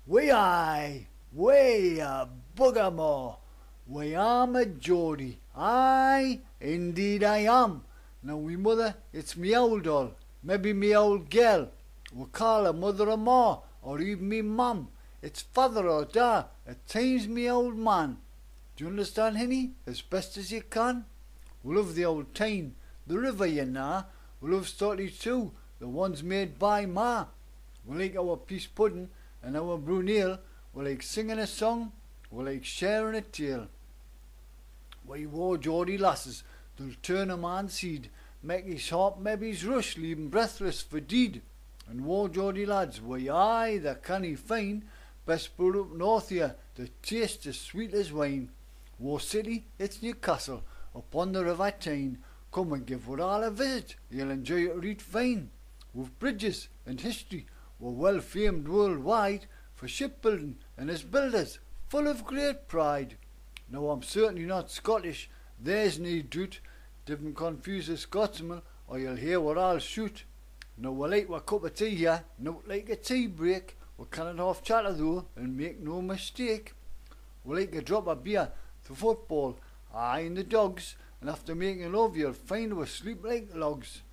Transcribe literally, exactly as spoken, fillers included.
Way I, way a buggermore, way I'm a Geordie, aye, indeed I am. Now we mother, it's me old doll, maybe me old girl, we'll call her mother or ma, or even me mum, it's father or da, at times me old man. Do you understand, Henny, as best as you can? We love the old Tyne, the river you know, we love Stotty too, the ones made by ma. We like our peace pudding, and our brunel, we like singing a song, we like sharing a tale. We war Geordie lasses, they'll turn a man's seed, make his heart maybe's rush, leave him breathless for deed. And war Geordie lads, we aye, the canny fine, best brewed up north here, the taste as sweet as wine. War City, it's Newcastle, upon the river Tyne, come and give us all a visit, you'll enjoy it right fine. With bridges and history, we're well famed worldwide for shipbuilding and as builders, full of great pride. Now I'm certainly not Scottish, there's no doubt, didn't confuse a Scotsman or you'll hear what I'll shoot. Now we like our cup of tea here, not like a tea break, we cannot half chatter though and make no mistake. We like a drop of beer, the football, aye and the dogs, and after making love you'll find we sleep like logs.